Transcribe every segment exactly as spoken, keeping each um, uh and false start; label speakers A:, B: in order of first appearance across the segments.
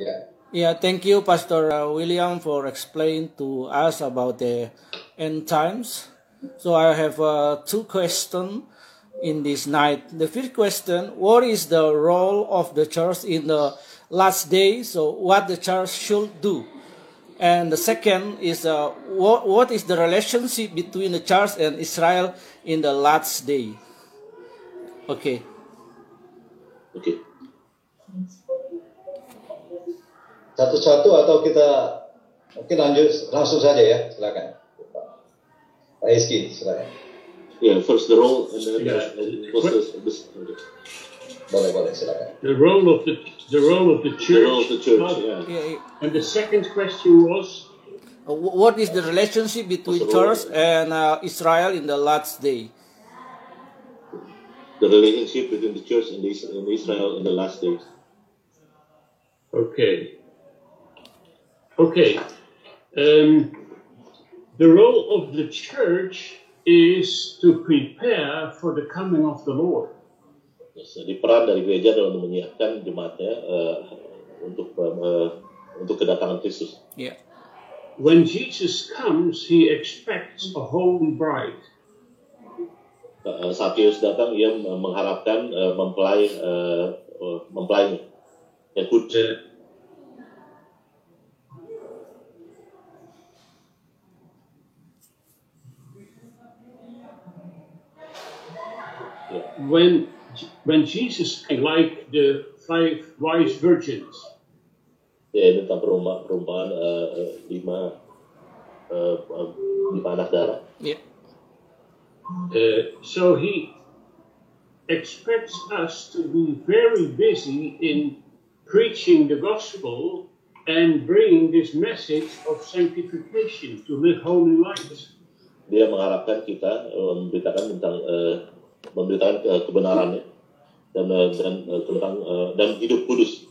A: Yeah.
B: Yeah, thank you, Pastor uh, William, for explaining to us about the end times. So I have uh, two questions in this night. The first question: what is the role of the church in the last day? So what the church should do? And the second is uh, what, what is the relationship between the church and Israel in the last day? Okay.
A: Oke. Satu-satu atau kita mungkin lanjut langsung saja ya, silakan. Pak Eski, silakan.
C: Yeah, first the role and then
D: Yeah.
C: the, what's the, this, okay.
A: Boleh, boleh, silakan.
D: The role of the the role of the church.
C: The role of the church,
D: Oh,
C: yeah.
B: Yeah, yeah.
D: And the second question was,
B: Uh, wh- what is the relationship between church and uh, Israel in the last day?
C: The relationship between the church and, the, and Israel in the last days.
D: okay, okay. Um, the role of the church is to prepare for the coming of the Lord.
C: Yes, jadi peran dari gereja adalah untuk menyiapkan jemaatnya uh, untuk uh, untuk kedatangan Kristus.
B: Yeah.
D: When Jesus comes, he expects a holy bride.
C: Uh, saat Yesus datang, ia mengharapkan uh, mempelai uh, uh, mempelainya yang kudus.
D: Uh,
C: Yeah.
D: when when Jesus, like the five wise virgins,
C: Ya, ini tentang perumpamaan, perumpamaan uh, uh, lima uh, uh, lima anak darah.
B: Yeah.
D: uh, so he expects us to be very busy in preaching the gospel and bringing this message of sanctification to live holy lives.
C: Dia mengharapkan kita uh, memberitakan tentang uh, memberitakan uh, kebenarannya dan uh, dan uh, tentang uh, dan hidup kudus.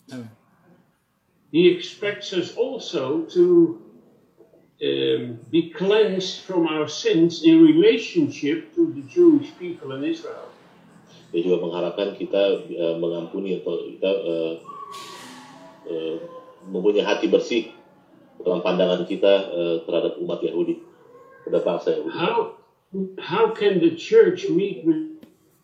D: He expects us also to um, be cleansed from our sins in relationship to the Jewish people in Israel.
C: Dia juga mengharapkan kita uh, mengampuni atau kita uh, uh, mempunyai hati bersih dalam pandangan kita uh, terhadap umat Yahudi, terhadap bangsa Yahudi.
D: How how can the church meet with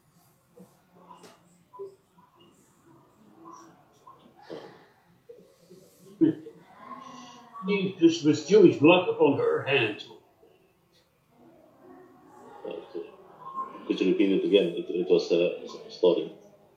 D: Jesus with Jewish blood upon her hand?
C: Could you repeat it again? It, it was a uh, story.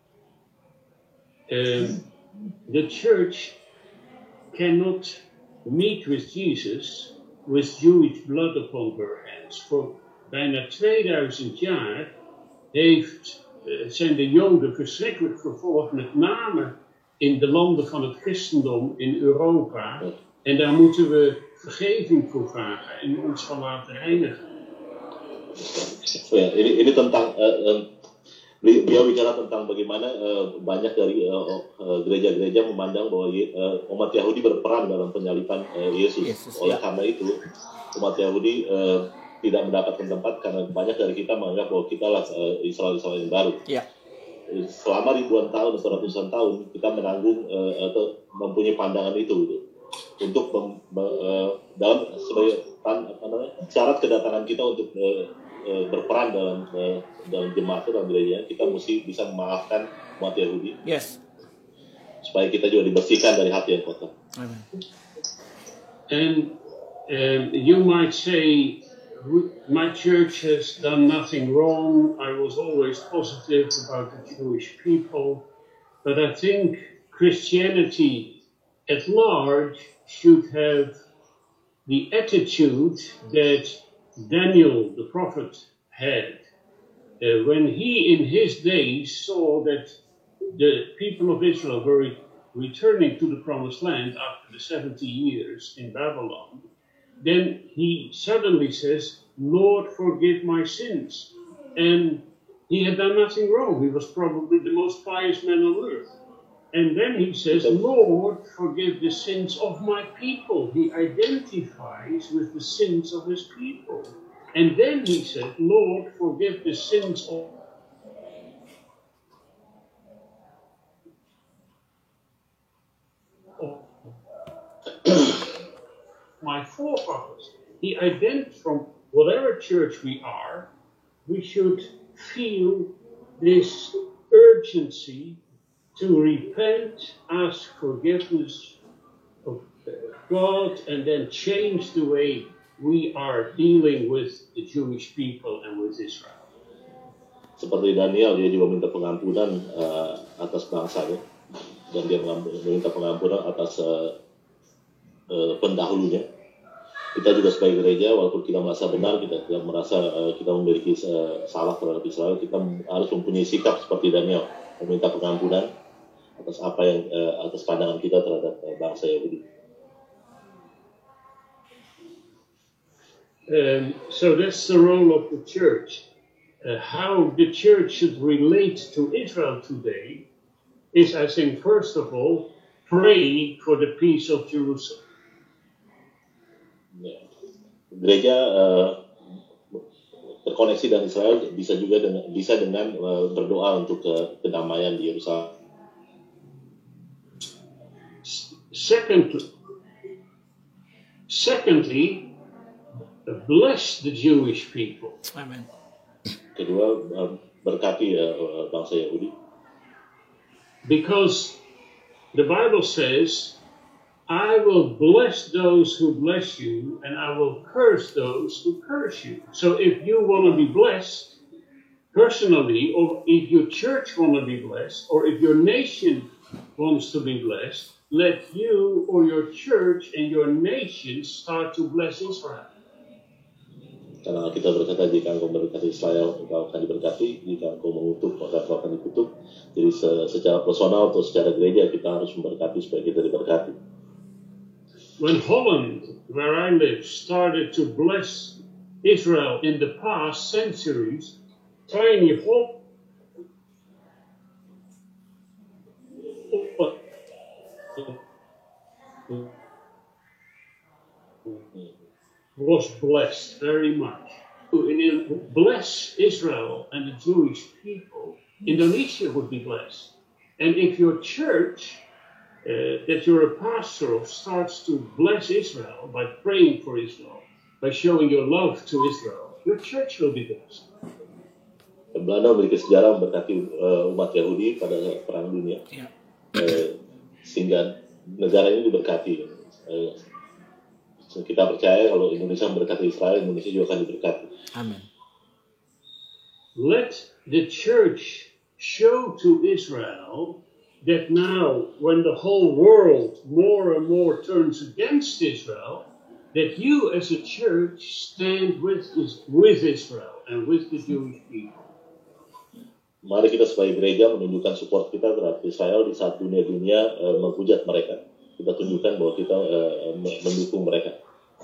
D: Um, the church cannot meet with Jesus with Jewish blood upon her hands. Voor bijna tweeduizend jaar heeft, uh, zijn de Joden verschrikkelijk vervolgd, met name in de landen van het christendom in Europa. En daar moeten we vergeving voor vragen en ons van laten reinigen.
C: So, ya, ini ini tentang uh, uh, beliau bicara tentang bagaimana uh, banyak dari uh, uh, gereja-gereja memandang bahwa uh, umat Yahudi berperan dalam penyaliban uh, Yesus.
B: Yesus,
C: Oleh
B: ya.
C: karena itu umat Yahudi uh, tidak mendapatkan tempat karena banyak dari kita menganggap bahwa kita lah uh, Israel-Israel yang baru.
B: Yeah.
C: Selama ribuan tahun atau ratusan tahun kita menanggung uh, atau mempunyai pandangan itu gitu. Untuk mem, uh, dalam sebagai tan, apa namanya, syarat kedatangan kita untuk uh, uh, berperan dalam uh, dalam jemaat dalam gereja, kita mesti bisa memaafkan umat Yahudi.
B: Yes.
C: Supaya kita juga dibersihkan dari hati yang kotor.
B: Amen.
D: And um, you might say, my church has done nothing wrong. I was always positive about the Jewish people. But I think Christianity at large should have the attitude that Daniel, the prophet, had. Uh, when he, in his days, saw that the people of Israel were re- returning to the promised land after the seventy years in Babylon, then he suddenly says, Lord, forgive my sins. And he had done nothing wrong. He was probably the most pious man on earth. And then he says, Lord, forgive the sins of my people. He identifies with the sins of his people. And then he said, Lord, forgive the sins of my forefathers. He identified from whatever church we are, we should feel this urgency to repent, ask forgiveness of God, and then change the way we are dealing with the Jewish people and with Israel.
C: Seperti Daniel, dia juga minta pengampunan uh, atas bangsanya, dan dia meminta pengampunan atas uh, uh, pendahulunya. Kita juga sebagai gereja, walaupun kita merasa benar, kita tidak merasa uh, kita memiliki uh, salah terhadap Israel, kita harus mempunyai sikap seperti Daniel, meminta pengampunan atas apa yang uh, atas pandangan kita terhadap uh, bangsa Yahudi.
D: Um, so that's the role of the church. Uh, how the church should relate to Israel today is, I think, first of all, pray for the peace of Jerusalem.
C: Ya. Gereja uh, terkoneksi dengan Israel bisa juga dengan, bisa dengan uh, berdoa untuk uh, kedamaian di Yerusalem.
D: Secondly, secondly, bless the Jewish people.
B: Amen.
C: Kedua, berkati uh, bangsa Yahudi.
D: Because the Bible says, I will bless those who bless you, and I will curse those who curse you. So if you want to be blessed personally, or if your church want to be blessed, or if your nation wants to be blessed, let you or your church and your nation start to bless Israel.
C: Karena kita berkata, jika engkau memberkati Israel, engkau akan diberkati. Jika engkau mengutuk, maka engkau akan dikutuk. Jadi secara personal atau secara gereja, kita harus memberkati supaya kita diberkati.
D: When Holland, where I live, started to bless Israel in the past centuries, tiny Holland was blessed very much. In bless Israel and the Jewish people, Indonesia would be blessed. And if your church, uh, that you're a pastor of, starts to bless Israel by praying for Israel, by showing your love to Israel, your church will be blessed.
C: Belanda memiliki sejarah memberkati uh, umat Yahudi pada perang dunia, yeah. uh, sehingga negara ini diberkati. Uh, Kita percaya kalau Indonesia memberkati Israel, Indonesia juga akan diberkati.
B: Amin.
D: Let the church show to Israel that now, when the whole world more and more turns against Israel, that you as a church stand with, with Israel and with the Jewish people.
C: Mari kita sebagai gereja menunjukkan support kita terhadap Israel di saat dunia-dunia uh, menghujat mereka. Kita tunjukkan bahwa kita uh, mendukung mereka.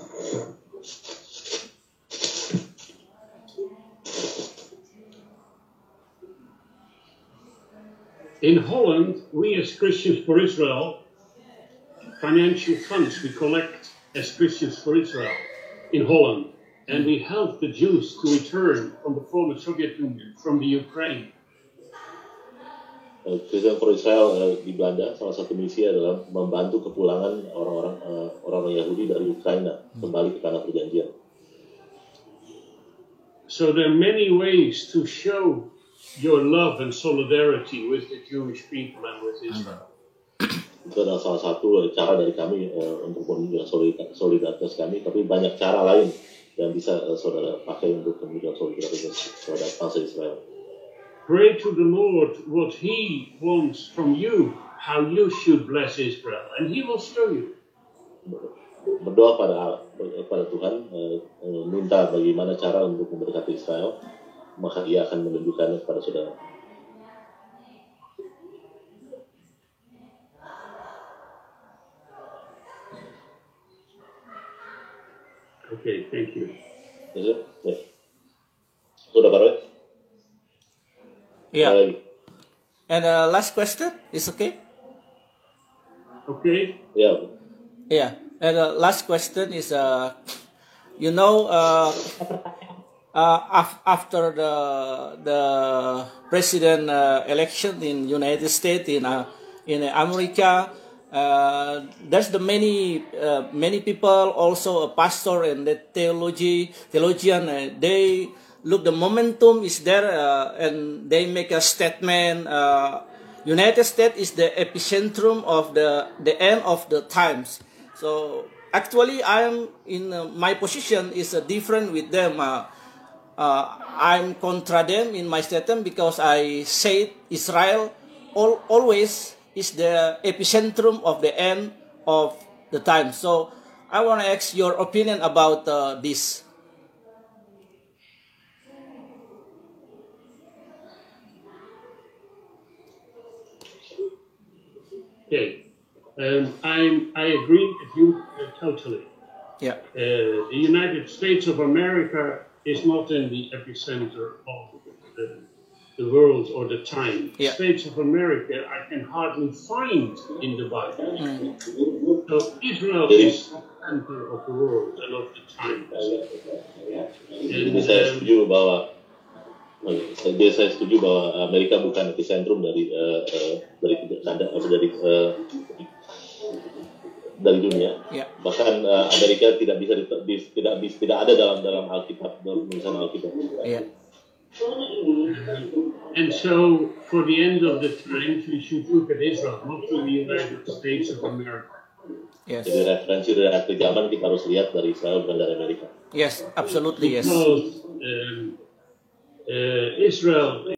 D: In Holland, we as Christians for Israel, financial funds we collect as Christians for Israel in Holland, and we help the Jews to return from the former Soviet Union, from the Ukraine.
C: Christian for Israel uh, di Belanda, salah satu misi adalah membantu kepulangan orang-orang uh, orang-orang Yahudi dari Ukraina kembali ke tanah perjanjian.
D: So there are many ways to show your love and solidarity with the Jewish people and with Israel.
C: Itu adalah salah satu cara dari kami uh, untuk menunjukkan solidaritas kami, tapi banyak cara lain yang bisa uh, saudara pakai untuk menunjukkan solidaritas terhadap bangsa Israel.
D: Pray to the Lord what He wants from you, how you should bless Israel, and He will show you.
C: Berdoa pada pada Tuhan, uh, minta bagaimana cara untuk memberkati Israel, maka Dia akan menunjukkannya kepada saudara.
D: Okay, thank you.
C: Ya, ya. Sudah Pak.
B: Yeah.
C: Uh,
B: and uh, last question is okay?
D: Okay.
C: Yeah.
B: Yeah. And uh, last question is, uh, you know, uh, uh, af- after the the president uh, election in United States, in uh, in America, Uh, there's the many uh, many people, also a pastor and the theology theologian. Uh, they look the momentum is there, uh, and they make a statement. Uh, United States is the epicentrum of the the end of the times. So actually, I am in uh, my position is uh, different with them. Uh, uh, I'm contra them in my statement because I said Israel all, always is the epicentrum of the end of the time. So I want to ask your opinion about uh, this.
D: Okay, um, I'm, I agree with you uh, totally.
B: Yeah.
D: Uh, the United States of America is not in the epicenter of the, the world or the time.
B: Yeah.
D: States of America I can hardly find in the Bible.
B: Mm.
D: So Israel is the center of the world and of the times.
C: Jadi saya setuju bahwa Jadi saya setuju bahwa Amerika bukan epicentrum dari uh, uh, dari dari uh, dari dunia.
B: Yeah.
C: Bahkan uh, Amerika tidak bisa di, di, tidak bisa tidak ada dalam dalam Alkitab, dalam tulisan Alkitab.
B: Yeah.
D: And so, for the end of the times, we should look at Israel, not to the United States of America.
B: Yes.
C: Jadi referensi dari akhir zaman kita harus lihat dari Israel bukan dari Amerika.
B: Yes, absolutely yes.
D: Because um, uh, Israel